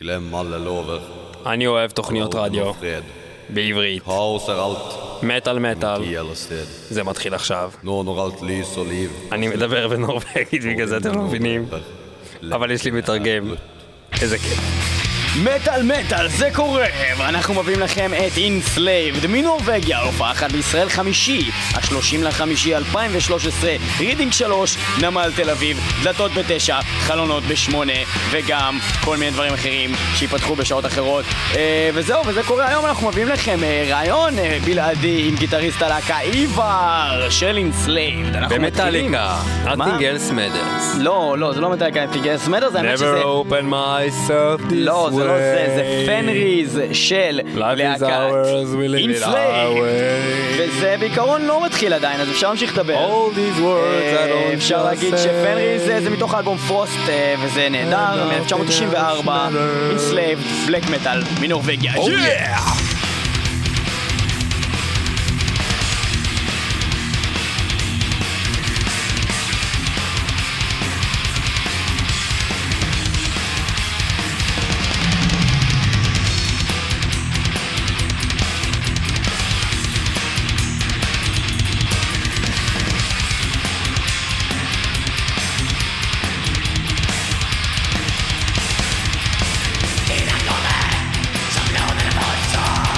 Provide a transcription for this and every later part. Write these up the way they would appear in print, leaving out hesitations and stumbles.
Glöm alla lover. אני אוהב תוכניות רדיו Fred. בעברית. Kaos är allt. מטל מטל. I alla sted. זה מתחיל עכשיו. Nå når allt lys och liv. אני מדבר בנורווגית, בגלל זה אתם לא מבינים. אבל יש לי מתרגם. איזה כיף. מטל מטל, זה קורה, ואנחנו מביאים לכם את Enslaved מנורווגיה, הופעה אחת בישראל חמישי, ה-30/5/2013, רידינג 3, נמל תל אביב, דלתות ב9, חלונות ב8, וגם כל מיני דברים אחרים שיפתחו בשעות אחרות. וזהו, וזה קורה היום. אנחנו מביאים לכם רעיון בלעדי עם גיטריסט הלהקה איבר של Enslaved. במטליקה, Nothing Else Matters. לא, זה לא מטליקה, Nothing Else Matters, האמת שזה... Never open myself this way. לא, זה לא זה פנריז של להקת Enslaved, וזה בעיקרון לא מתחיל עדיין, אז אפשר להמשיך לדבר. אפשר להגיד שפנריז זה מתוך האלבום פרוסט, וזה נהדר, מ-1994, Enslaved, בלק מטל מנורווגיה. Some load in a voice.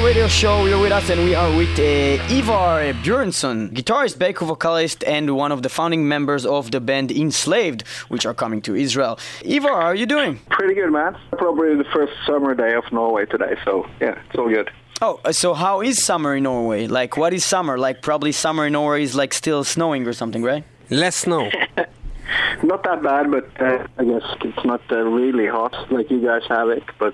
Radio Show. You're with us, and we are with Ivar Björnsson, guitarist, back vocalist, and one of the founding members of the band Enslaved, which are coming to Israel. Ivar, how are you doing? Pretty good, man. Probably the first summer day of Norway today, so yeah, it's all good. Oh, so how is summer in Norway? Like, what is summer? Like, probably summer in Norway is like still snowing or something, right? Less snow. Not that bad, but I guess it's not really hot like you guys have it, but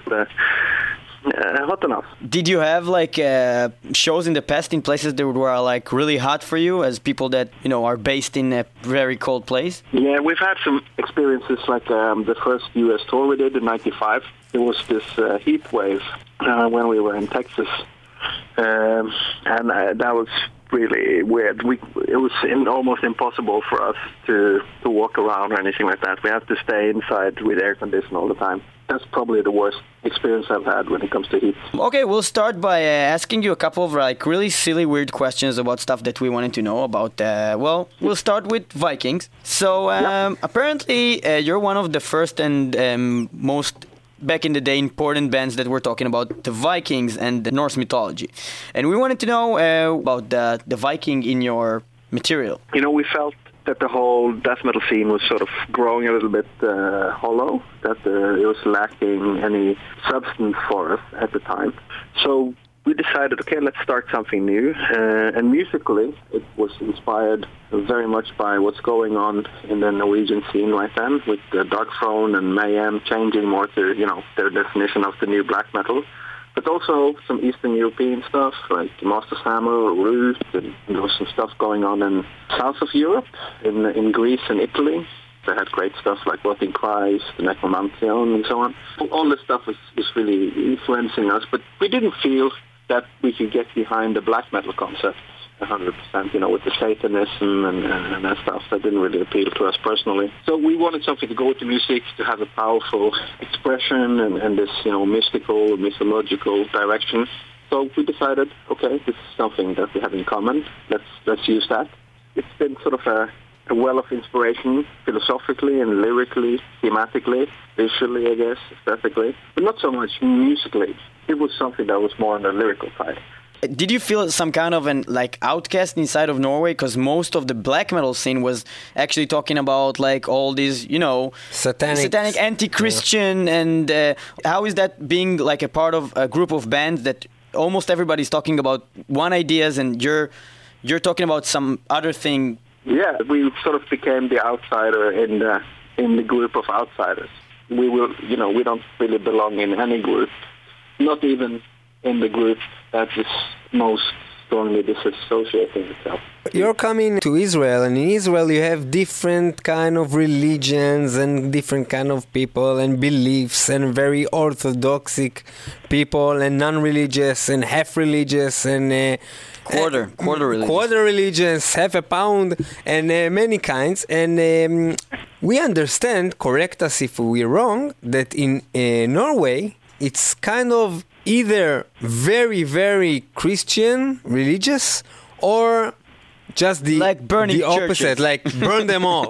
hot enough. Did you have like shows in the past in places that were like really hot for you, as people that are based in a very cold place? Yeah, we've had some experiences like the first US tour we did in '95. There was this heat wave when we were in Texas, and that was really weird. It was almost impossible for us to walk around or anything like that. We have to stay inside with air conditioning all the time. That's probably the worst experience I've had when it comes to heat. Okay, we'll start by asking you a couple of like really silly, weird questions about stuff that we wanted to know about. We'll start with Vikings. So apparently you're one of the first and most back in the day important bands that were talking about the Vikings and the Norse mythology. And we wanted to know about the Viking in your material. We felt that the whole death metal scene was sort of growing a little bit hollow, that it was lacking any substance for us at the time. So we decided, okay, let's start something new. And musically, it was inspired very much by what's going on in the Norwegian scene right then, with the Dark Throne and Mayhem changing more to, their definition of the new black metal. But also some Eastern European stuff, like Master's Hammer, Root, and there was some stuff going on in south of Europe, in Greece and Italy. They had great stuff like Rotting Christ, the Necromantion, and so on. All this stuff was really influencing us, but we didn't feel that we could get behind the black metal concept 100%, with the Satanism and that stuff. That didn't really appeal to us personally. So we wanted something to go with the music, to have a powerful expression and this, mystical, mythological direction. So we decided, okay, this is something that we have in common. Let's use that. It's been sort of a well of inspiration, philosophically and lyrically, thematically, visually, I guess, aesthetically, but not so much musically. It was something that was more on the lyrical side. Did you feel some kind of an outcast inside of Norway? Because most of the black metal scene was actually talking about like all these, satanic anti-Christian, and how is that being like a part of a group of bands that almost everybody's talking about one ideas and you're talking about some other thing? Yeah, we sort of became the outsider in the group of outsiders. We don't really belong in any group, not even in the group that is most strongly disassociating itself. You're coming to Israel, and in Israel you have different kind of religions and different kind of people and beliefs, and very orthodox people and non-religious and half-religious and quarter religious. Quarter religions, half a pound, and many kinds. And we understand, correct us if we're wrong, that in Norway it's kind of either very, very Christian, religious, or just the opposite, churches. like burn them all.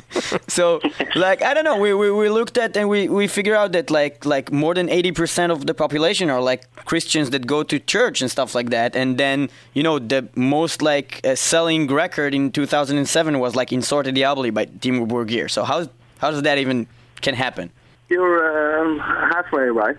So, I don't know, we looked at and we figured out that like more than 80% of the population are like Christians that go to church and stuff like that. And then, the most selling record in 2007 was like In Sorte Diaboli by Dimmu Borgir. So how does that even can happen? You're halfway right.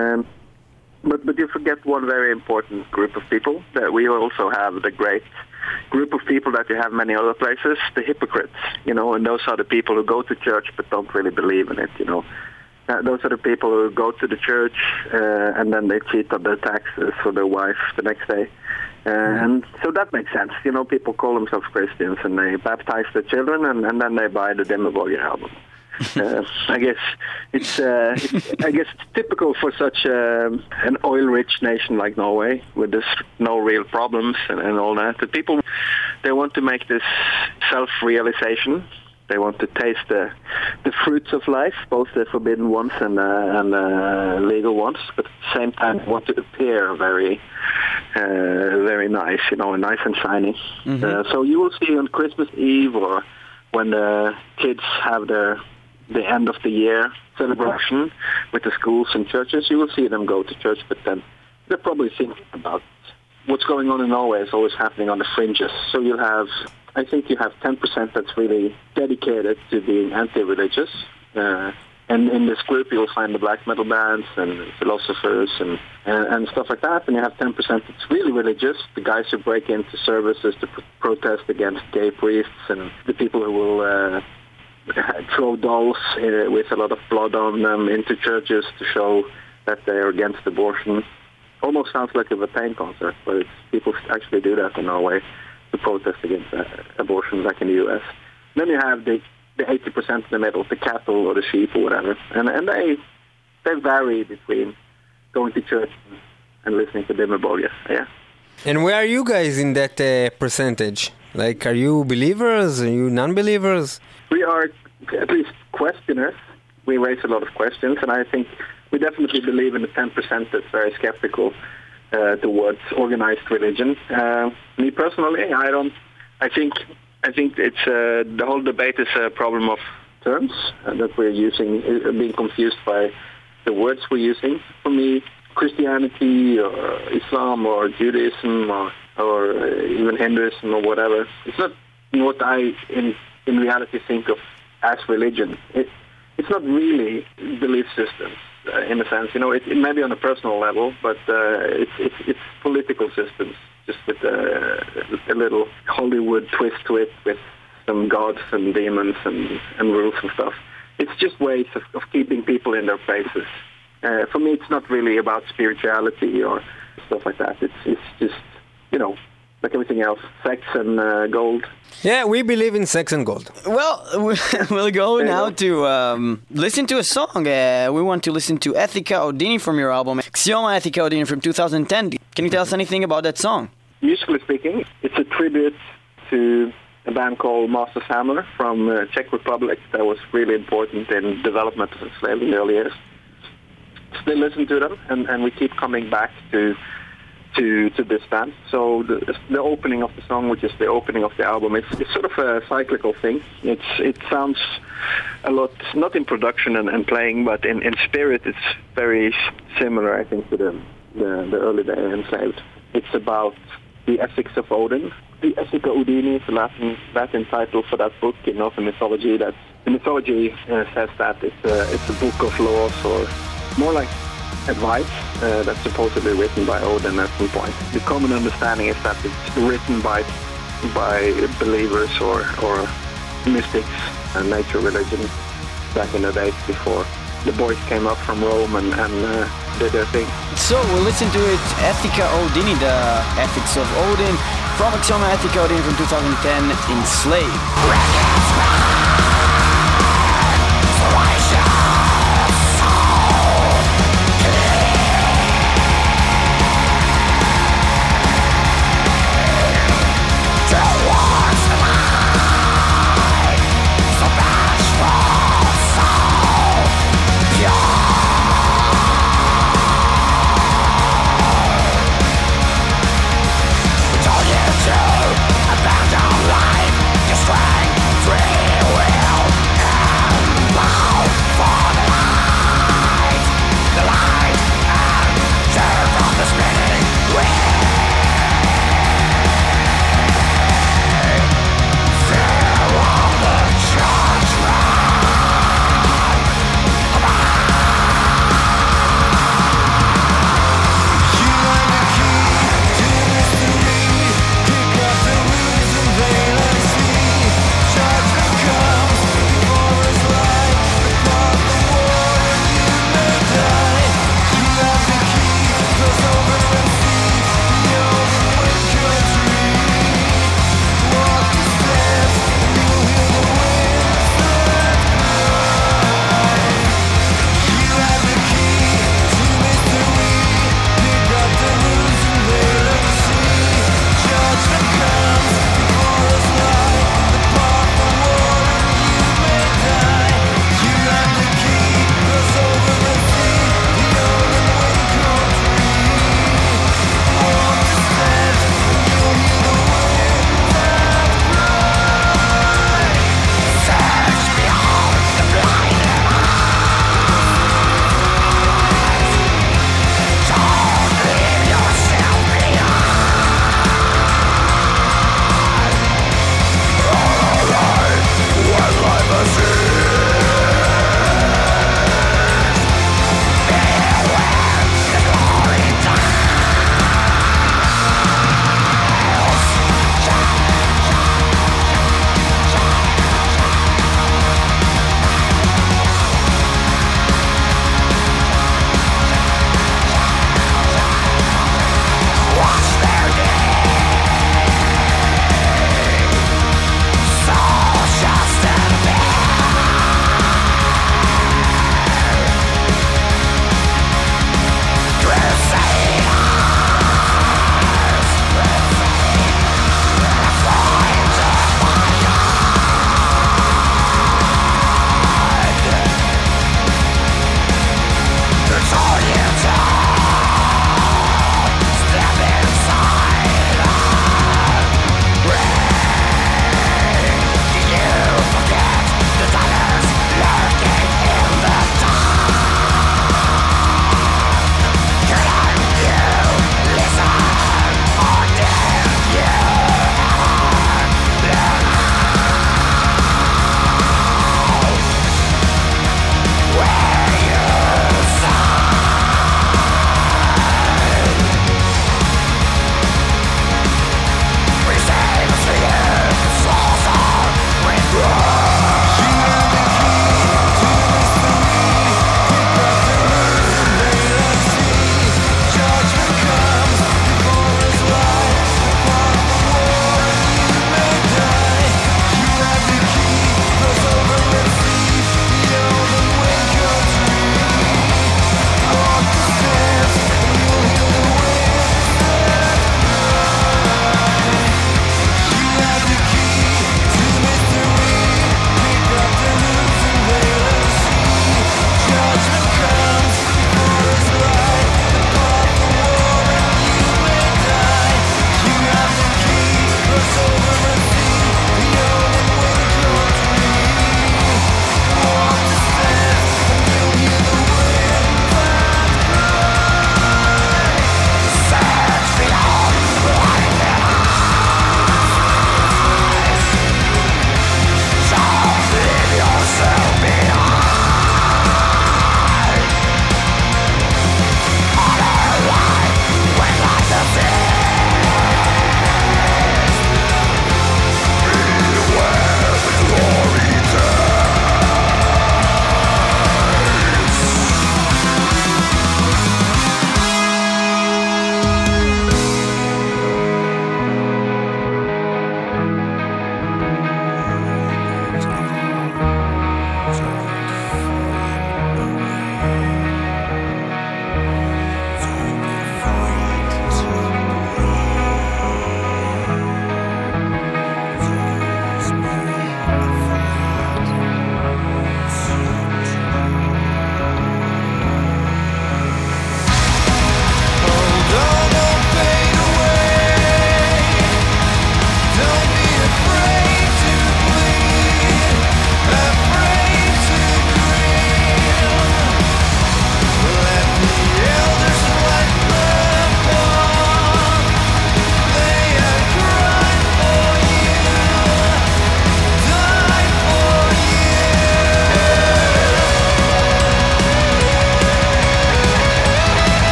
But you forget one very important group of people, that we also have the great group of people that you have many other places, the hypocrites, and those are the people who go to church but don't really believe in it, Those are the people who go to the church and then they cheat on their taxes for their wife the next day. And so that makes sense. People call themselves Christians and they baptize their children and then they buy the Dimmu Borgir album. I guess it's typical for such an oil-rich nation like Norway, with there's no real problems and all that. The people, they want to make this self-realization. They want to taste the fruits of life, both the forbidden ones and legal ones, but at the same time want to appear very, very nice, nice and shiny. Mm-hmm. So you will see on Christmas Eve or when the kids have the end of the year celebration with the schools and churches, you will see them go to church, but then they're probably thinking about what's going on in Norway is always happening on the fringes. So I think you have 10% that's really dedicated to being anti-religious. And in this group, you'll find the black metal bands and philosophers and stuff like that. And you have 10% that's really religious, the guys who break into services to protest against gay priests and the people who will throw dolls with a lot of blood on them into churches to show that they're against abortion. Almost sounds like a Vatain concert, but people actually do that in Norway to protest against abortion, like in the U.S. Then you have the 80% in the middle, the cattle or the sheep or whatever, and they vary between going to church and listening to Dimmu Borgir. Yeah. And where are you guys in that percentage? Like, are you believers? Are you non-believers? We are at least questioners. We raise a lot of questions, and I think we definitely believe in the 10% that's very skeptical towards organized religion. Me personally, I think it's the whole debate is a problem of terms that we're using, being confused by the words we're using. For me, Christianity or Islam or Judaism or even Hinduism or whatever, it's not what I in reality think of as religion. It's not really belief systems in a sense. It may be on a personal level, but it's political systems, just with a little Hollywood twist to it, with some gods and demons and rules and stuff. It's just ways of keeping people in their places. For me, it's not really about spirituality or stuff like that. It's just, like everything else, sex and gold. Yeah, we believe in sex and gold. Well, we'll go now to listen to a song. We want to listen to Ethika Odini from your album, Xioma Ethika Odini from 2010. Can you tell us anything about that song? Musically speaking, it's a tribute to a band called Master's Hammer from Czech Republic that was really important in development of slavery in the early years. Still listen to them, and we keep coming back to this band. So the opening of the song, which is the opening of the album, it's sort of a cyclical thing. It sounds a lot, not in production and playing, but in spirit, it's very similar, I think, to the early day Enslaved. It's about the ethics of Odin. The Ethika Odini is the Latin title for that book in Northern mythology. The mythology says that it's a book of laws, or more like advice that's supposedly written by Odin at some point. The common understanding is that it's written by believers or mystics and nature religion back in the days before the boys came up from Rome and did their thing. So we'll listen to it, Ethika Odini, the Ethics of Odin, from Xioma Ethika Odini from 2010, Enslaved. Abandon life, your strength, free.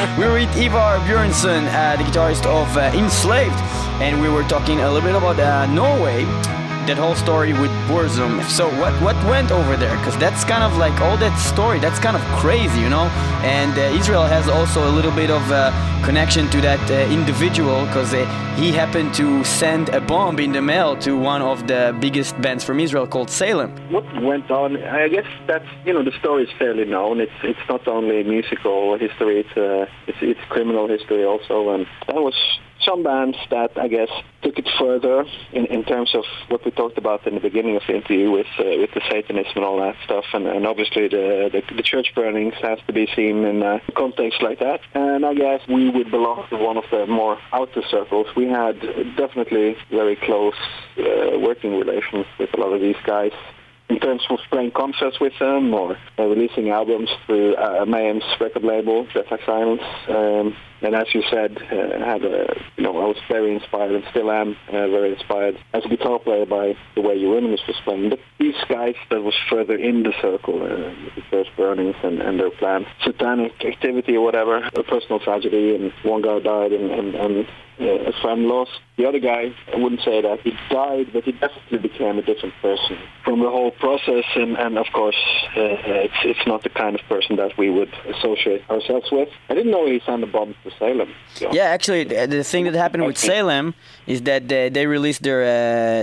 We were with Ivar Björnsson, the guitarist of Enslaved, and we were talking a little bit about Norway, that whole story with Burzum. So what went over there? Because that's kind of like all that story, that's kind of crazy, you know? And Israel has also a little bit of connection to that individual, because he happened to send a bomb in the mail to one of the biggest bands from Israel called Salem. What went on? I guess that's, the story is fairly known. It's not only musical history, it's criminal history also, and that was some bands that, I guess, took it further in terms of what we talked about in the beginning of the interview with the Satanism and all that stuff, and obviously the church burnings has to be seen in a context like that. And I guess we would belong to one of the more outer circles. We had definitely very close working relations with a lot of these guys, in terms of playing concerts with them or releasing albums through Mayhem's record label, Jet Black Silence. And as you said, I was very inspired and still am very inspired as a guitar player by the way Euronymous was playing. But these guys that was further in the circle, the first burnings and their planned satanic activity or whatever, a personal tragedy, and one guy died and a friend lost. The other guy, I wouldn't say that he died, but he definitely became a different person from the whole process. And of course, it's not the kind of person that we would associate ourselves with. I didn't know he sent a bomb to Salem. So. Yeah, actually, the thing that happened with Salem is that they released their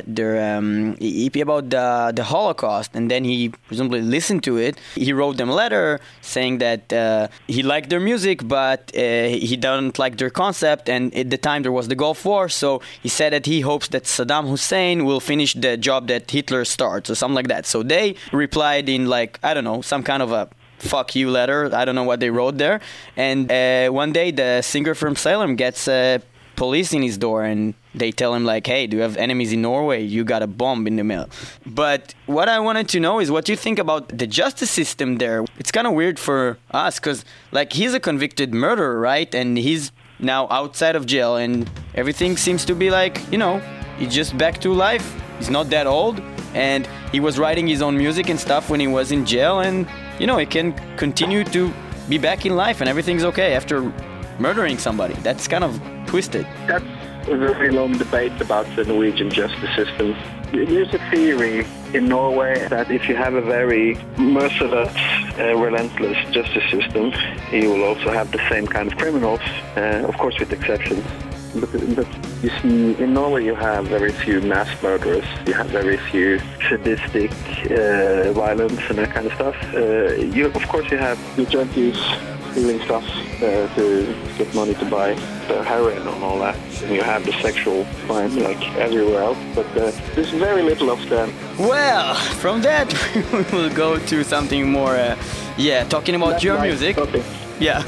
EP about the Holocaust, and then he presumably listened to it. He wrote them a letter saying that he liked their music, but he doesn't like their concept, and at the time there was the Gulf War, so he said that he hopes that Saddam Hussein will finish the job that Hitler starts, or something like that. So they replied in, like, I don't know, some kind of a fuck you letter. I don't know what they wrote there. And one day the singer from Salem gets police in his door, and they tell him, like, hey, do you have enemies in Norway? You got a bomb in the mail. But what I wanted to know is what you think about the justice system there. It's kind of weird for us because, like, he's a convicted murderer, right? And he's now outside of jail, and everything seems to be like, he's just back to life. He's not that old, and he was writing his own music and stuff when he was in jail, and he can continue to be back in life and everything's okay after murdering somebody. That's kind of twisted. That's a very long debate about the Norwegian justice system. There's a theory in Norway that if you have a very merciless, relentless justice system, you will also have the same kind of criminals, of course with exceptions. But you see, in Norway you have very few mass murderers, you have very few sadistic violence and that kind of stuff. Of course you have the junkies stealing stuff to get money to buy the heroin and all that. And you have the sexual crime like everywhere else, but there's very little of them. Well, from that we will go to something more, talking about your music. Okay. Yeah.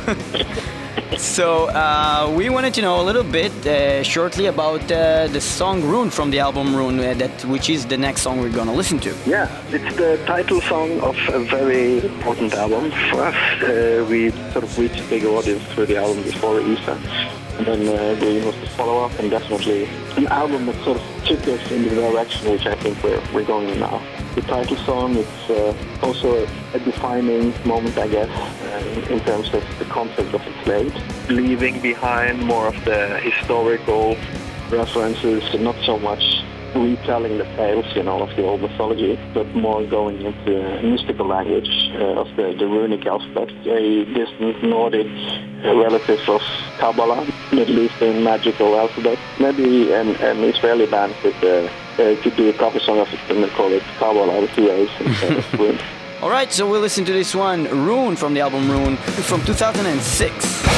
So we wanted to know a little bit shortly about the song Rune from the album Rune, which is the next song we're going to listen to. Yeah, it's the title song of a very important album for us. We sort of reached a bigger audience through the album before Isa. And then Green was the follow-up, and definitely an album that sort of took us in the direction which I think we're going in now. The title song, it's also a defining moment, I guess, in terms of the concept of Enslaved. Leaving behind more of the historical references, and not so much retelling the tales, of the old mythology, but more going into a mystical language of the runic alphabet, a distant Nordic relative of Kabbalah, Middle Eastern magical alphabet. Maybe an Israeli band could do a cover song of it and call it Kabbalah with 2 A's instead of Rune. Alright, so we'll listen to this one, Rune, from the album Rune, from 2006.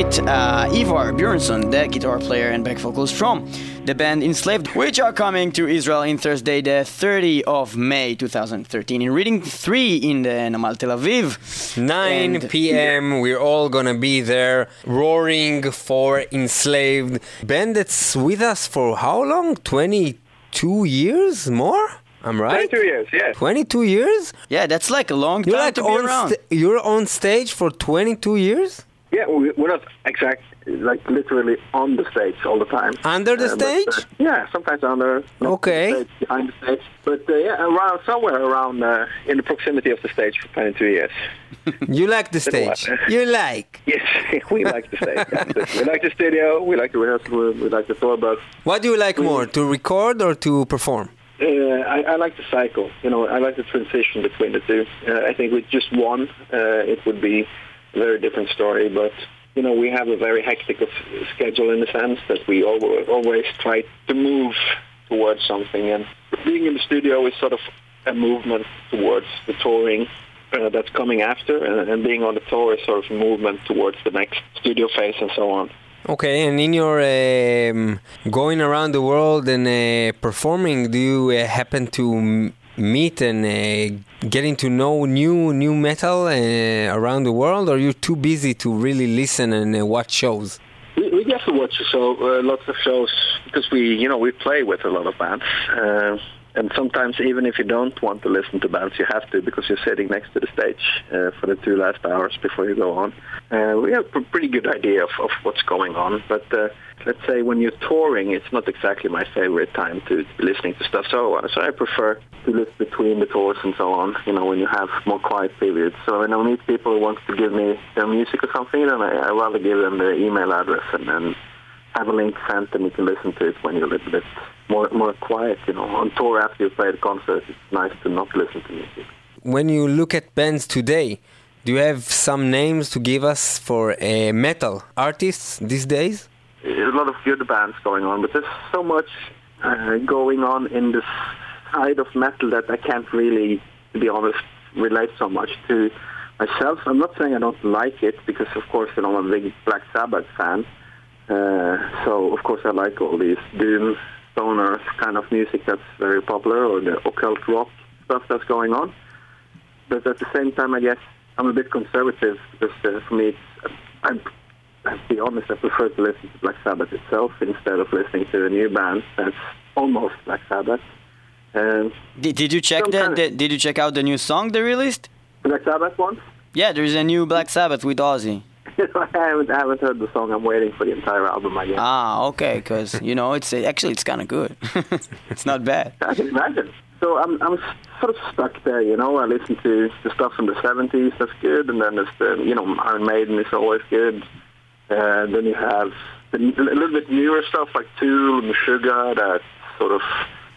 met Ivar Björnsson, the guitar player and back vocalist from the band Enslaved, which are coming to Israel on Thursday, the 30th of May 2013, in Reading 3 in the Namal Tel Aviv. 9 p.m. We're all gonna be there, roaring for Enslaved. Band that's with us for how long? 22 years more? I'm right? 22 years, yeah. 22 years? Yeah, that's like a long time to be around. You're on stage for 22 years? Yeah, we're not literally on the stage all the time. Under the stage? Yeah, sometimes under. Okay. The stage, behind the stage. But somewhere around in the proximity of the stage for 22 years. You like the stage? You like? Yes, we like the stage. We like the studio, we like the rehearsal room, we like the tour bus. What do you like more, to record or to perform? I like the cycle. I like the transition between the two. I think with just one, it would be a very different story. But, we have a very hectic schedule in the sense that we always try to move towards something. And being in the studio is sort of a movement towards the touring that's coming after. And being on the tour is sort of a movement towards the next studio phase and so on. Okay, and in your going around the world and performing, do you happen to meet and getting to know new metal around the world, or are you too busy to really listen and watch shows? We get to watch lots of shows because we play with a lot of bands. And sometimes even if you don't want to listen to bands, you have to because you're sitting next to the stage for the 2 last hours before you go on. We have a pretty good idea of what's going on. But let's say when you're touring, it's not exactly my favorite time to be listening to stuff. So I prefer to listen between the tours and so on, when you have more quiet periods. So when I meet people who want to give me their music or something, then I rather give them the email address and have a link sent and you can listen to it when you're a little bit more quiet, On tour after you play the concert, it's nice to not listen to music. When you look at bands today, do you have some names to give us for metal artists these days? There's a lot of good bands going on, but there's so much going on in the side of metal that I can't really, to be honest, relate so much to myself. I'm not saying I don't like it, because of course, I'm a big Black Sabbath fan. So, of course, I like all these doom, stoner kind of music that's very popular, or the occult rock stuff that's going on. But at the same time, I guess I'm a bit conservative, because for me, I'll be honest, I prefer to listen to Black Sabbath itself instead of listening to a new band that's almost Black Sabbath. Did you check Did you check out the new song they released? Black Sabbath one? Yeah, there's a new Black Sabbath with Ozzy. I haven't heard the song. I'm waiting for the entire album, I guess. Ah, okay, because, it's kind of good. It's not bad. I can imagine. So I'm sort of stuck there, I listen to the stuff from the 70s, that's good, and then there's the, Iron Maiden is always good. Then you have a little bit newer stuff like Tool and Meshuggah, that's sort of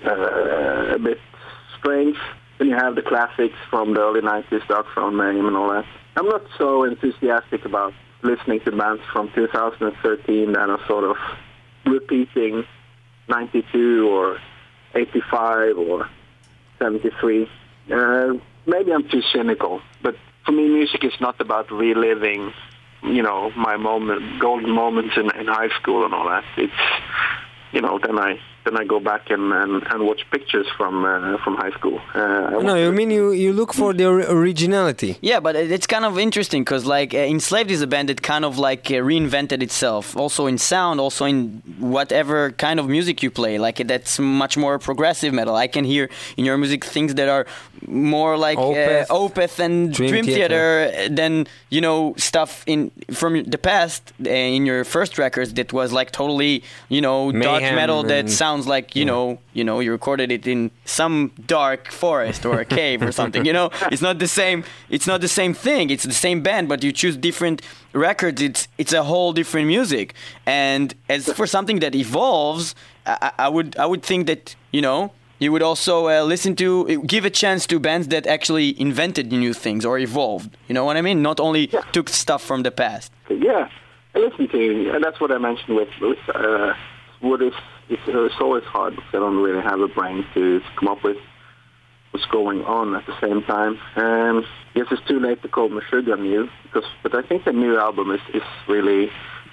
a bit strange. Then you have the classics from the early 90s, Dark Throne, Mayhem and all that. I'm not so enthusiastic about listening to bands from 2013 that are sort of repeating 92 or 85 or 73. Maybe I'm too cynical, but for me, music is not about reliving, my golden moments in high school and all that. It's, then I go back and watch pictures from high school. You look for the originality. Yeah, but it's kind of interesting because Enslaved is a band that kind of reinvented itself, also in sound, also in whatever kind of music you play. That's much more progressive metal. I can hear in your music things that are more like Opeth and Dream Theater than stuff from the past in your first records that was totally dark metal that sounds like you recorded it in some dark forest or a cave or something. It's not the same. It's not the same thing. It's the same band, but you choose different records. It's a whole different music. And as for something that evolves, I would think that you would also give a chance to bands that actually invented new things or evolved. You know what I mean? Not only took stuff from the past. Yeah, I listen to, and that's what I mentioned with what is. It's always hard because I don't really have a brain to come up with what's going on at the same time. Yes, it's too late to call Meshuggah new, but I think the new album is really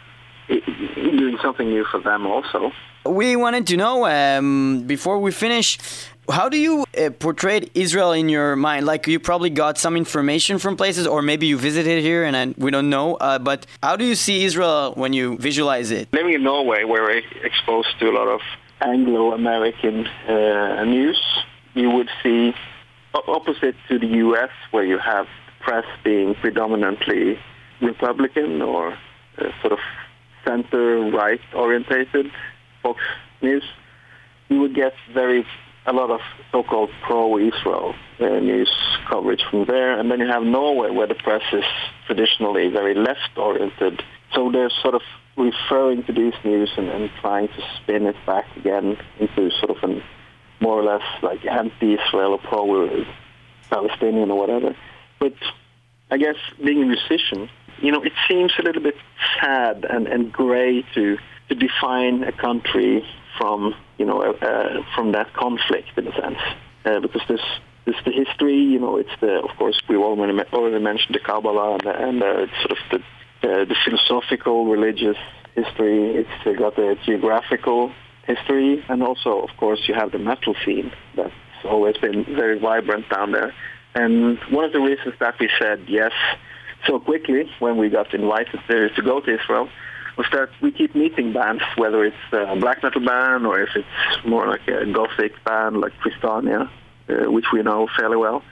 doing something new for them also. We wanted to know, before we finish, how do you portray Israel in your mind? Like, you probably got some information from places, or maybe you visited here and we don't know, but how do you see Israel when you visualize it? Living in Norway, where we're exposed to a lot of Anglo-American news, you would see, opposite to the U.S., where you have press being predominantly Republican or sort of center-right orientated Fox News, you would get a lot of so-called pro-Israel news coverage from there. And then you have Norway, where the press is traditionally very left-oriented. So they're sort of referring to these news and trying to spin it back again into sort of an more or less like anti-Israel or pro-Palestinian or whatever. But I guess being a musician, it seems a little bit sad and gray to define a country from from that conflict in a sense, because there's the history, it's of course we already mentioned the Kabbalah and sort of the philosophical, religious history. It's got the geographical history, and also of course you have the metal scene that's always been very vibrant down there. And one of the reasons that we said yes so quickly when we got invited to go to Israel was that we keep meeting bands, whether it's a black metal band or if it's more like a gothic band like Tristania, which we know fairly well.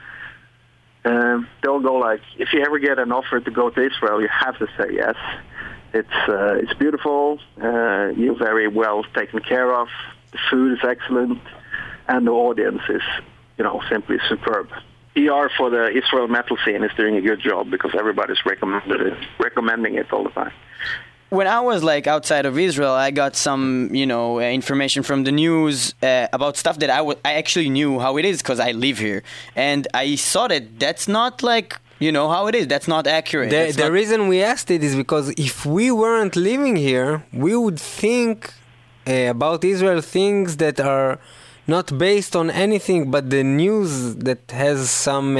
They'll go like, if you ever get an offer to go to Israel, you have to say yes. It's beautiful, you're very well taken care of, the food is excellent, and the audience is, simply superb. PR for the Israel metal scene is doing a good job because everybody's recommending it all the time. When I was outside of Israel, I got some, information from the news about stuff that I actually knew how it is because I live here. And I saw that that's not how it is. That's not accurate. The reason we asked it is because if we weren't living here, we would think about Israel things that are not based on anything but the news that has some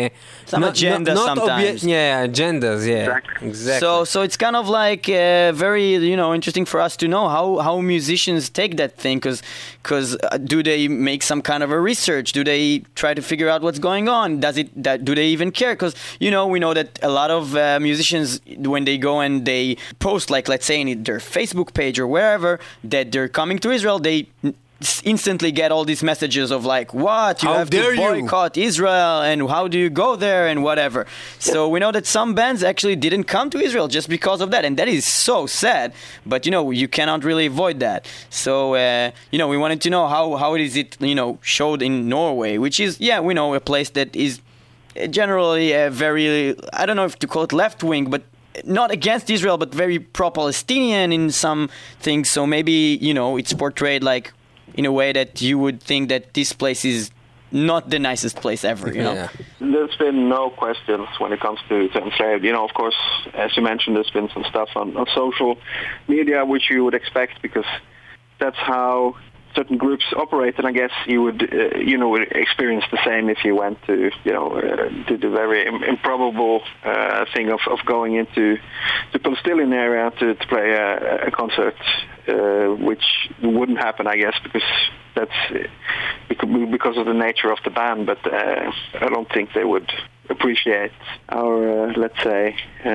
agenda sometimes. Agendas, yeah. Exactly. So it's kind of very, interesting for us to know how musicians take that thing, because do they make some kind of a research? Do they try to figure out what's going on? Do they even care? Because, we know that a lot of musicians, when they go and they post, let's say in their Facebook page or wherever, that they're coming to Israel, they instantly get all these messages of what you have to boycott Israel and how do you go there and whatever. So we know that some bands actually didn't come to Israel just because of that, and that is so sad, but you cannot really avoid that. So we wanted to know how is it showed in Norway, which is we know a place that is generally a very, I don't know if to call it left wing, but not against Israel, but very pro-Palestinian in some things. So maybe it's portrayed in a way that you would think that this place is not the nicest place ever, Yeah. There's been no questions when it comes to enslaved. Of course, as you mentioned, there's been some stuff on social media, which you would expect because that's how certain groups operate, and I guess you would experience the same if you went to did the very improbable thing of going into the Palestinian area to play a concert, which wouldn't happen, I guess, because that's because of the nature of the band. But I don't think they would appreciate our let's say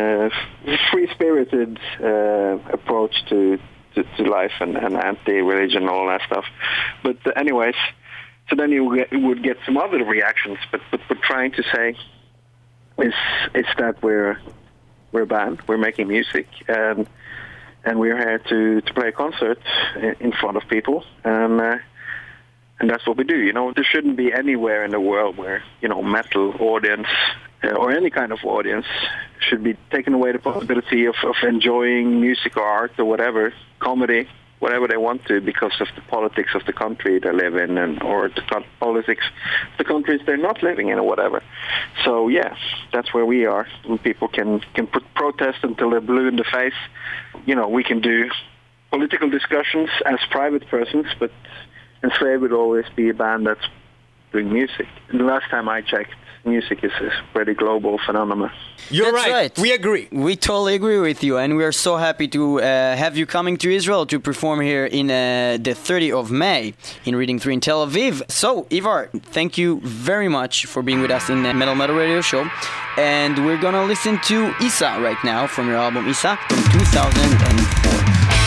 free-spirited approach to life and anti-religion and all that stuff. But anyways, so then you would get some other reactions. But we're trying to say is that we're a band, we're making music, and we're here to play a concert in front of people, and that's what we do. There shouldn't be anywhere in the world where metal audience or any kind of audience should be taken away the possibility of enjoying music or art or whatever, comedy, whatever they want to, because of the politics of the country they live in or the politics of the countries they're not living in or whatever. So that's where we are. And people can protest until they're blue in the face. We can do political discussions as private persons, but Enslaved would always be a band that's doing music. And the last time I checked, music is a pretty global phenomenon. You're That's right. We agree. We totally agree with you, and we are so happy to have you coming to Israel to perform here in the 30th of May in Reading 3 in Tel Aviv. So, Ivar, thank you very much for being with us in the Metal Radio Show. And we're gonna listen to Isa right now from your album Isa from 2004.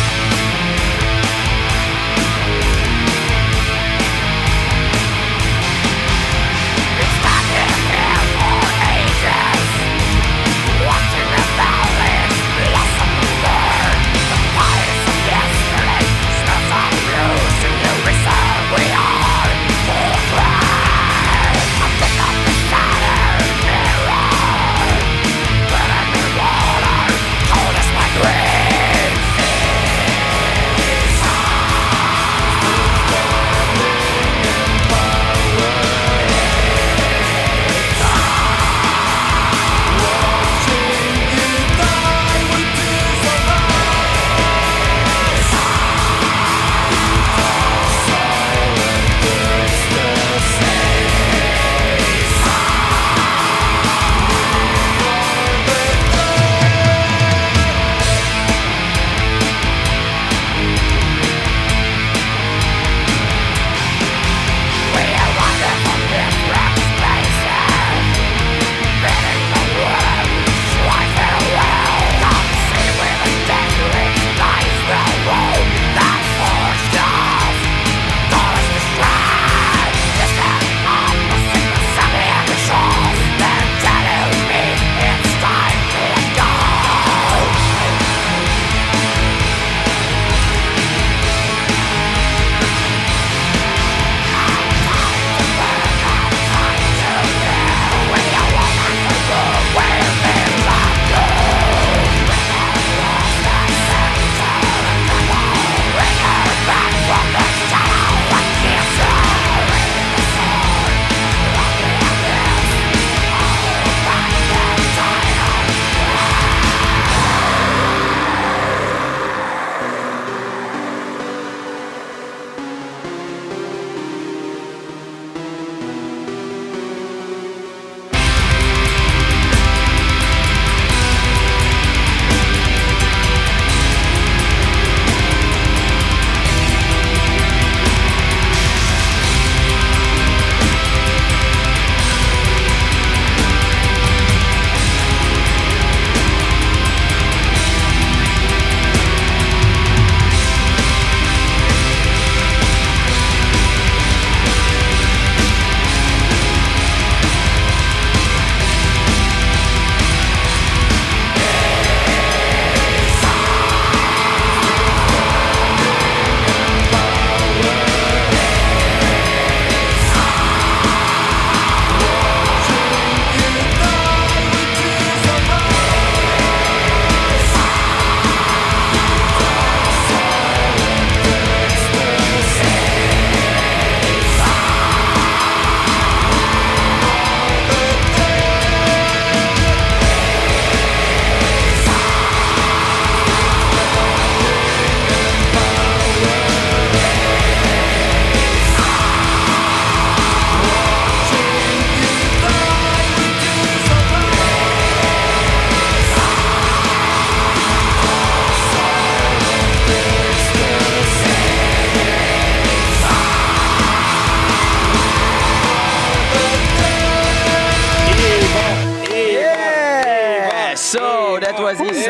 that was Isa.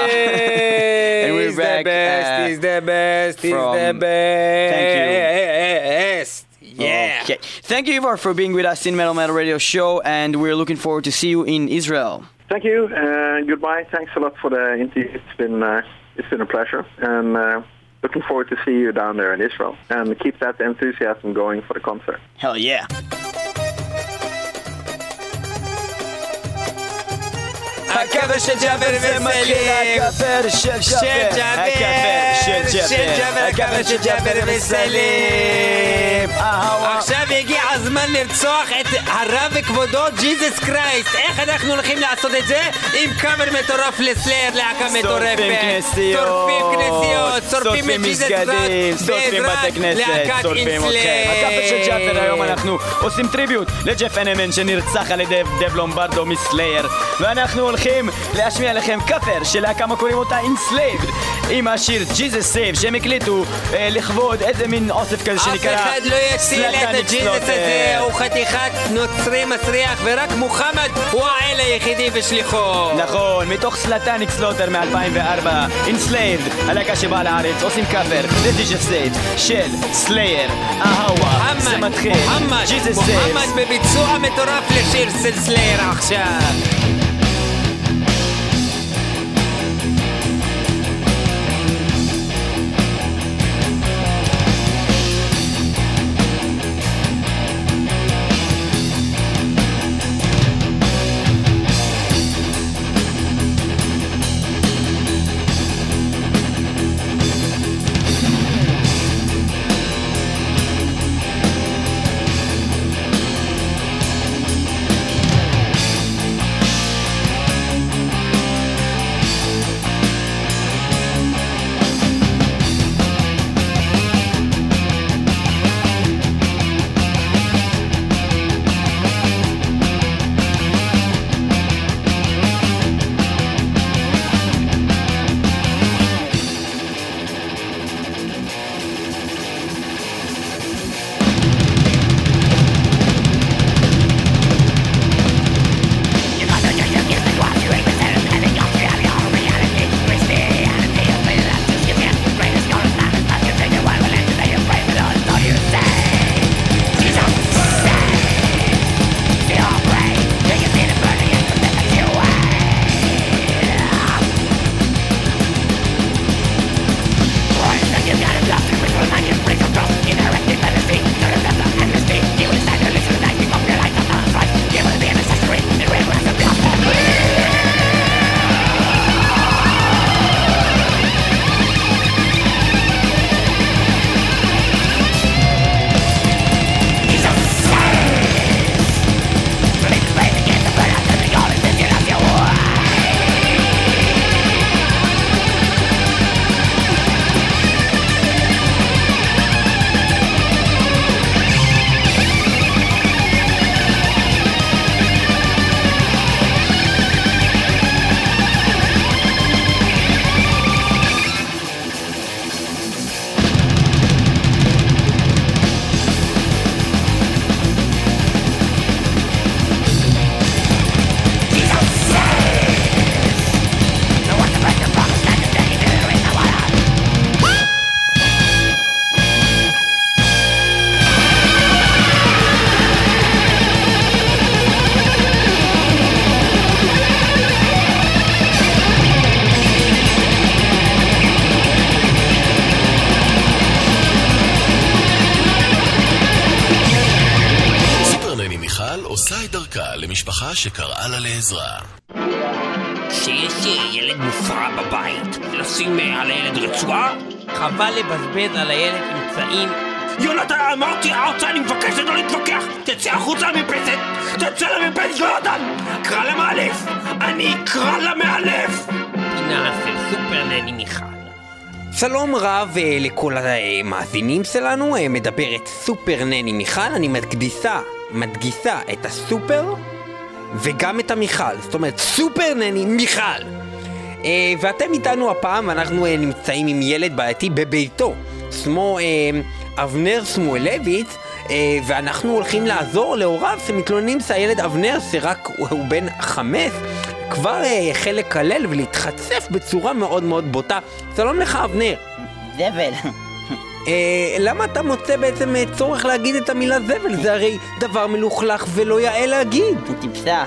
And we're back. He's the best. He's the best. Thank you. Yeah. Okay. Thank you, Ivar, for being with us in Metal Radio Show, and we're looking forward to see you in Israel. Thank you. Goodbye. Thanks a lot for the interview. It's been a pleasure, and looking forward to see you down there in Israel. And keep that enthusiasm going for the concert. Hell yeah. הכפר של ג'אבר וסלים, הכפר של ג'אבר, הכפר של ג'אבר וסלים. עכשיו הגיע הזמן לרצוח את הרב וכבודו ג'יזוס קרייסט. איך אנחנו הולכים לעשות את זה? עם קאבר מטורף לסלייר, להקה מטורפת. שורפים כנסיות, שורפים את ג'יזוס קרייסט, שורפים בתי כנסת, שורפים אתכם. הכפר של ג'אבר, היום אנחנו עושים טריביוט לג'ף אנמן שנרצח על ידי דב לומברדו מסלייר, ואנחנו הולכים להשמיע לכם כפר של להקה קוראים אותה Enslaved עם השיר Jesus Save שהם הקליטו לכבוד איזה מין אוסף כזה שנקרא אף אחד לא יציל את הג'יזוס הזה, הוא חתיכת נוצרי מסריח, ורק מוחמד הוא האל היחידי בשליחו. נכון, מתוך סלטניק סלוטר מ-2004, Enslaved, הלהקה שבאה לארץ, עושים כפר ל-Jesus Save של סלייר. אהווה, זה מתחיל. מוחמד בביצוע מטורף לשיר של סלייר עכשיו. למשפחה שקראה לה לעזרה. שיש ילד מופרע בבית, לשים על הילד רצועה? חבל לבזבז על הילד אמצעים. יונתן, אמרתי, אני מבקש לא להתווכח. תצא החוצה למרפסת, תצא למרפסת, יונתן! קרא למאלף, אני אקרא למאלף! פינה של סופר נני מיכל. שלום רב לכל המאזינים שלנו, מדברת סופר נני מיכל. אני מדגיסה את הסופר וגם את המיכל, זאת אומרת סופר נני מיכל. ואתם איתנו הפעם, אנחנו נמצאים עם ילד בעייתי בביתו, שמו אבנר שמואלביץ, ואנחנו הולכים לעזור להוריו שמתלוננים שהילד אבנר, שרק הוא בן 5, כבר החל לקלל ולהתחצף בצורה מאוד מאוד בוטה. שלום לך אבנר. זבל. למה אתה מוצא בעצם צורך להגיד את המילה זבל? זה הרי דבר מלוכלך ולא יאה להגיד. טיפסה.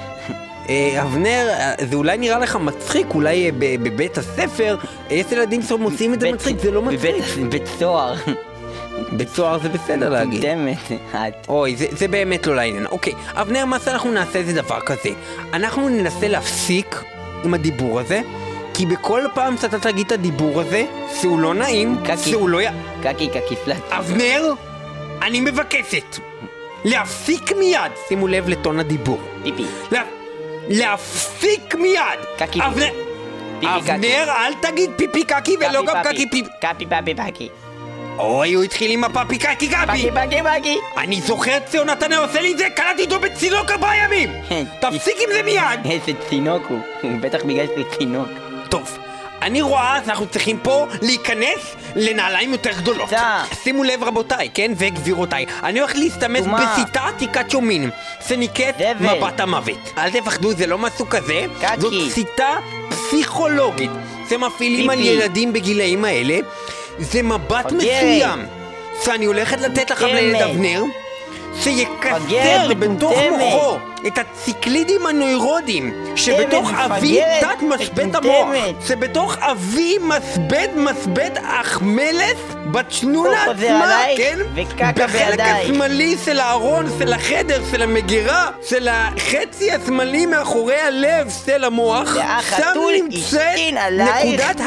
אבנר, זה אולי נראה לך מצחיק, אולי בבית הספר יש ילדים שמוצאים את זה מצחיק, זה לא מצחיק. בבית סוהר. בית סוהר זה בסדר להגיד. אוי, זה באמת לא לעניין. אוקיי, אבנר, מה שאנחנו נעשה זה דבר כזה. אנחנו ננסה להפסיק עם הדיבור הזה, כי בכל פעם שאתה תגיד את הדיבור הזה, זה הוא לא נעים, זה הוא לא קקי פלט. אבנר, אני מבקשת להפסיק מיד, שימו לב לטון הדיבור. פיפי. להפסיק מיד. קקי. אבנר, אל תגיד פיפי קקי ולא גם קקי פיפי. קפי פפי פקי. אוי, הוא התחיל עם הפפי קקי קפי. פקי. אני זוכר את ציונתן עושה לי את זה, קלטתי אותו בצינוק 4 ימים. תפסיק עם זה מיד. איזה צינוק הוא בטח בגלל שזה צינוק. טוב, אני רואה שאנחנו צריכים פה להיכנס לנעליים יותר גדולות. שימו לב רבותיי, כן, וגבירותיי, אני הולך להסתמס בשיטה עתיקת שומין שנקראת מבט המוות. אל תפחדו, זה לא משהו כזה, זאת שיטה פסיכולוגית שמפעילים על ילדים בגילאים האלה. זה מבט מסוים שאני הולכת לתת לכם לילד אבנר, שיקצר בתוך מוחו את הציקלידים הנוירודיים שבתוך אבי תת משבט המוח, שבתוך אבי מסבט אכמלס בתשנונה עצמה, כן? בחלק השמאלי של הארון, של החדר, של המגירה, של החצי השמאלי מאחורי הלב של המוח, שם נמצאת נקודת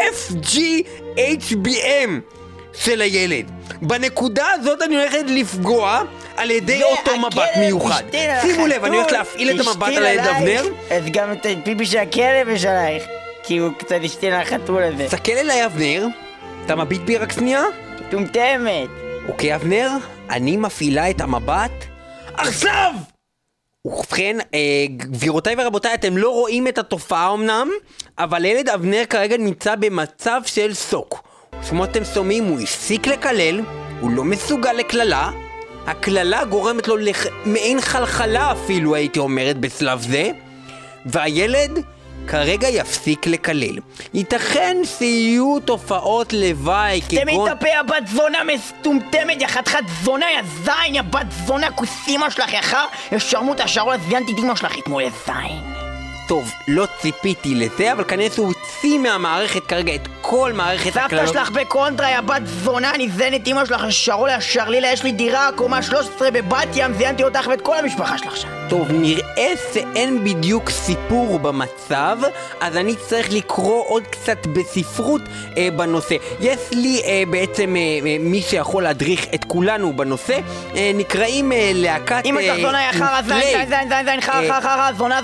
ה-FGHBM של הילד. בנקודה הזאת אני הולכת לפגוע על ידי אותו מבט מיוחד. שימו לב, אני הולך להפעיל את המבט על הילד אבנר. אז גם את הפיפי של הכלב יש עלייך, כי הוא קצת השתין על החתול הזה. תסתכל אליי אבנר, אתה מביט בי רק שנייה? טומטמת. אוקיי אבנר, אני מפעילה את המבט עכשיו! ובכן, גבירותיי ורבותיי, אתם לא רואים את התופעה אמנם, אבל ילד אבנר כרגע נמצא במצב של סוק. כמו אתם שומעים, הוא הפסיק לקלל, הוא לא מסוגל לקללה, הקללה גורמת לו מעין חלחלה אפילו, הייתי אומרת בשלב זה, והילד כרגע יפסיק לקלל. ייתכן שיהיו תופעות לוואי כגון... תמי תפה הבת זונה מסתומתמת, יא חתיכת זונה, יא זין, יא בת זונה, כוסימה שלך, יא שרמוט השרול הזיינתי דימה שלך, כמו יא זין. טוב, לא ציפיתי לזה, אבל כנראה הוא הוציא מהמערכת כרגע את כל מערכת הכללות. סבתא שלך בקונטרה, יא בת זונה, אני זיינת אמא שלך, שרול השרלילה, יש לי דירה, קומה 13 בבת ים, זיינתי אותך ואת כל המשפחה שלך שם. טוב, נראה שאין בדיוק סיפור במצב, אז אני צריך לקרוא עוד קצת בספרות בנושא. יש לי בעצם מי שיכול להדריך את כולנו בנושא, נקראים להקת... אמא שלך זונה, יא חרא, זין, חרא, זונה,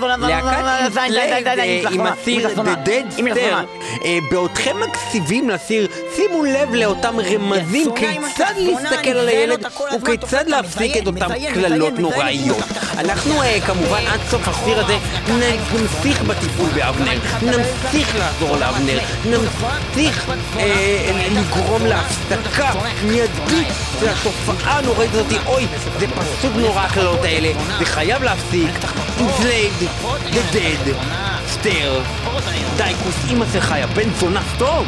עם הסיר The Dead Stare. בעודכם מקסיבים לסיר, שימו לב לאותם רמזים כיצד להסתכל על הילד וכיצד להפסיק את אותם כללות נוראיות. אנחנו כמובן עד סוף הסיר הזה נמשיך בטיפול באבנר, נמשיך לעזור לאבנר, נמשיך לגרום להפסקה מיידית של התופעה הנוראית הזאת. אוי, זה פשוט נורא הכללות האלה, זה חייב להפסיק. Enslaved, The Dead Stare. די, כוס אמא שלך, יא בן זונה, טוב!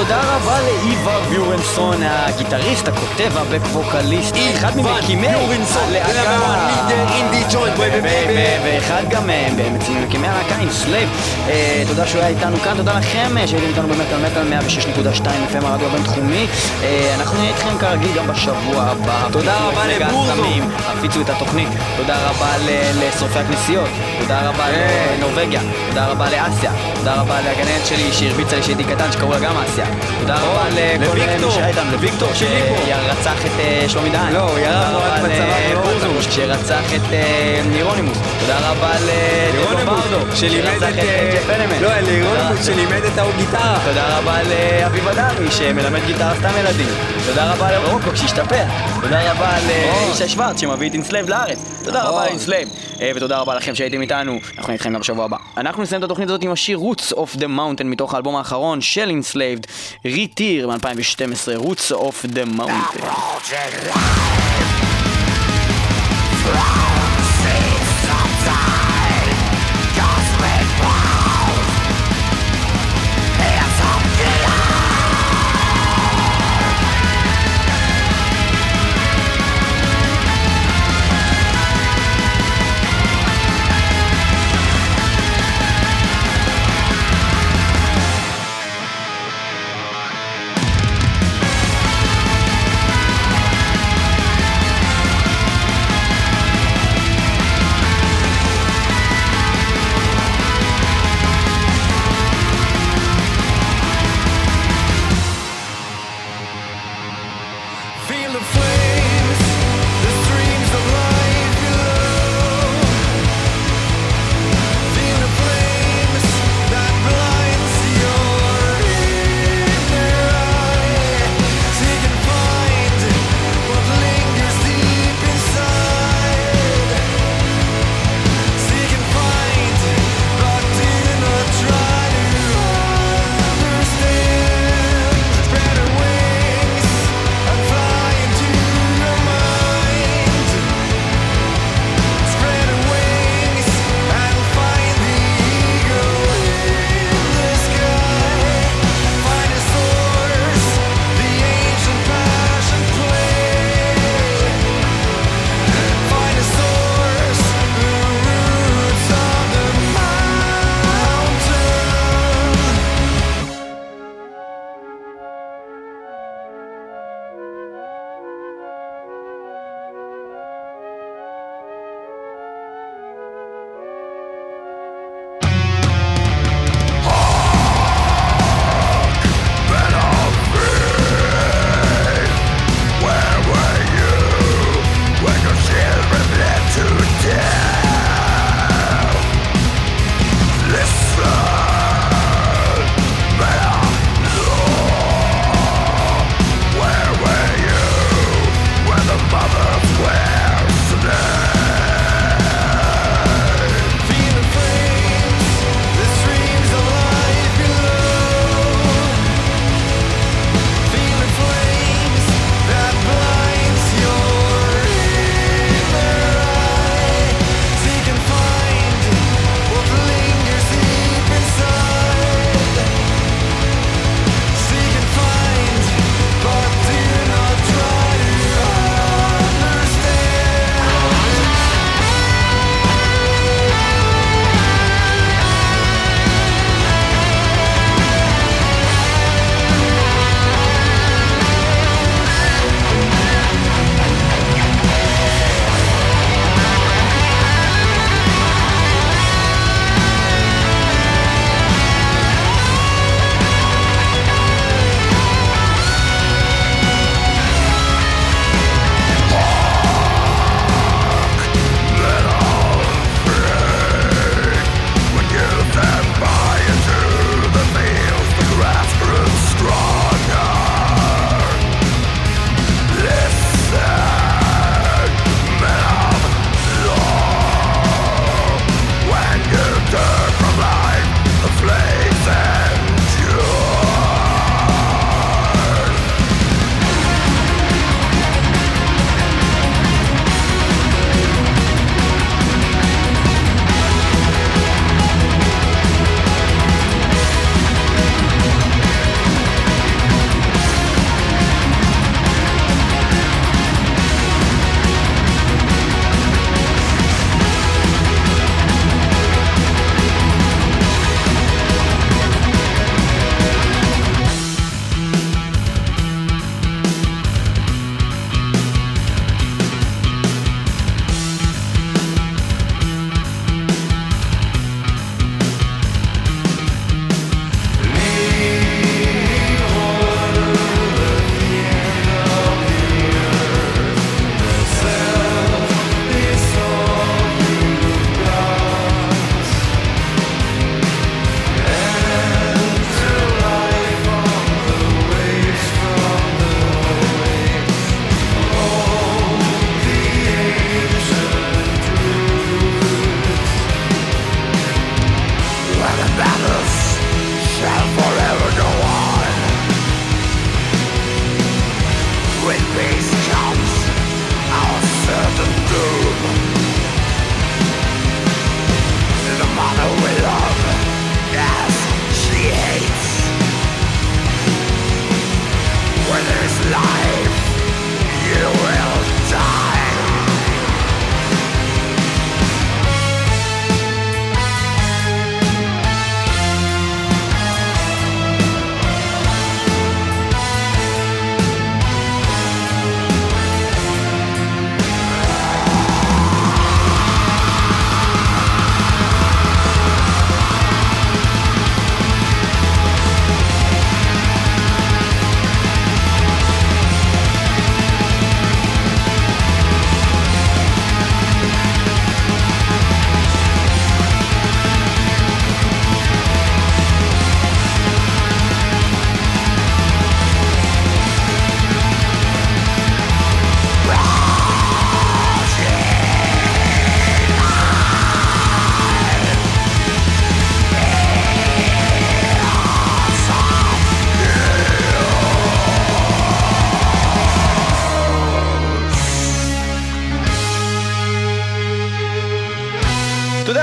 ותודה רבה לאיוון ביורנסון, הגיטריסט, הכותב, הבק-ווקליסט, אחד ממקימי ואחד גם ממקימי הלהקה אינסלייב. תודה שהוא היה איתנו כאן, תודה לכם שהייתם איתנו במטל 106.2 FM הרדיו הבינתחומי. אנחנו נהיה איתכם כרגיל גם בשבוע הבא. תודה רבה לבורזו, הפיצו את התוכנית. תודה רבה לשורפי הכנסיות, תודה רבה לנורווגיה, תודה רבה לאסיה, תודה רבה להגננת שלי שהרביצה לי שהייתי קטן שקראו לה גם אסיה, תודה רבה לוויקטור שרצח את שלומי דהן, לא, לבורזו שרצח את נירונימוס, תודה רבה לברדו שלימד את ג'ף פנמן, לא, לירונימוס שלימד את הגיטרה, תודה רבה לאביב אדמי שמלמד גיטרה סתם ילדים, תודה רבה לרוקוק שהשתפר, תודה רבה לאישה שוורץ שמביא את אינסלייב לארץ, תודה רבה לאינסלייב, ותודה רבה לכם שהייתם איתנו. אנחנו נהיה איתכם גם בשבוע הבא. אנחנו נסיים את התוכנית הזאת עם השיר Roots of the Mountain מתוך האלבום האחרון של Enslaved, ריטיר מ-2012, Roots of the Mountain.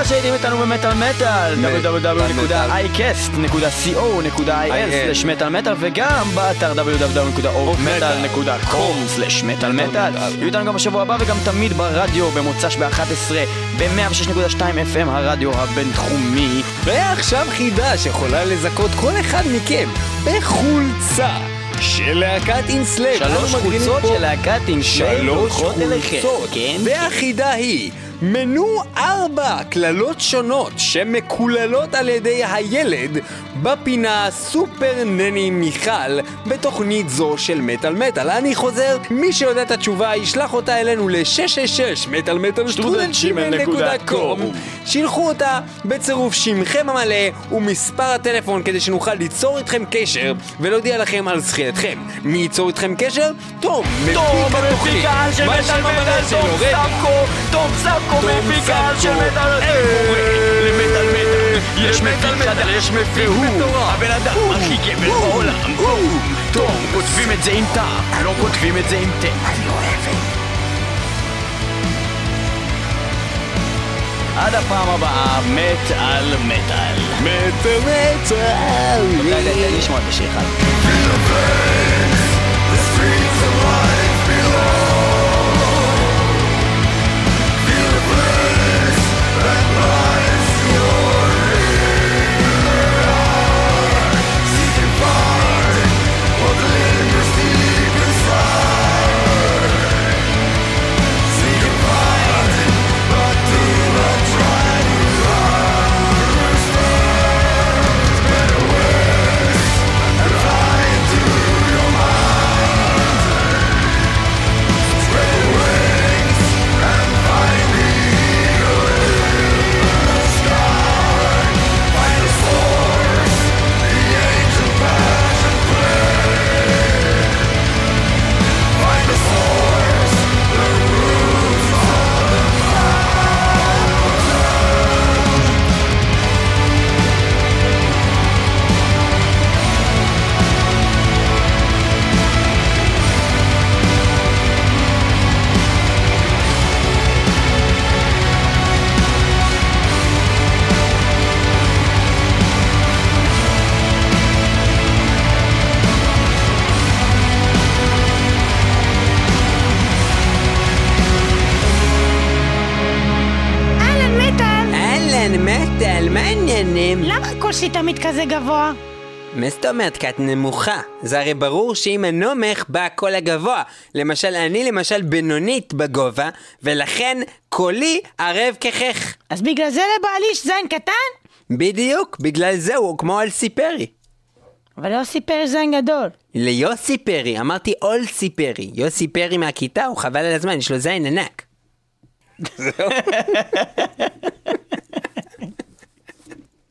שהייתם איתנו במטל מטל, www.icast.co.il/מטל וגם באתר www.metal.com/מטל. יהיו איתנו גם בשבוע הבא וגם תמיד ברדיו במוצ"ש ב-11 ב-106.2 FM הרדיו הבינתחומי. ועכשיו חידה שיכולה לזכות כל אחד מכם בחולצה של להקת אינסלאב. 3 חולצות של להקת אינסלאב הולכות אליכם. והחידה היא מנו 4 כללות שונות שמקוללות על ידי הילד בפינה סופר נני מיכל בתוכנית זו של מטל מטל. אני חוזר, מי שיודע את התשובה ישלח אותה אלינו ל-666-מטל-מטל-שטרודל-gmail.com. שילחו אותה בצירוף שמכם המלא ומספר הטלפון כדי שנוכל ליצור איתכם קשר ולהודיע לכם על זכייתכם. מי ייצור איתכם קשר? תום, מפיק התוכנית. של מטל מטל, תום סבקו מפיק של מטל למטל מטל. יש מפיק חדש, והוא הבן אדם הכי גבר בעולם. תום, כותבים את זה עם תא, לא כותבים את זה עם תא. אני אוהב את זה. עד הפעם הבאה, מטל מטל. מטל מטל. תן לשמוע את השיר אחד. למה הקול שלי תמיד כזה גבוה? מה זאת אומרת? כי את נמוכה. זה הרי ברור שאם הנומך בא הקול הגבוה. למשל, אני למשל בינונית בגובה, ולכן קולי ערב כחך. אז בגלל זה לבעלי יש זין קטן? בדיוק, בגלל זה הוא כמו אלסי פרי. אבל יוסי פרי זין גדול. ליוסי פרי, אמרתי אולסי פרי. יוסי פרי מהכיתה, הוא חבל על הזמן, יש לו זין ענק. זהו.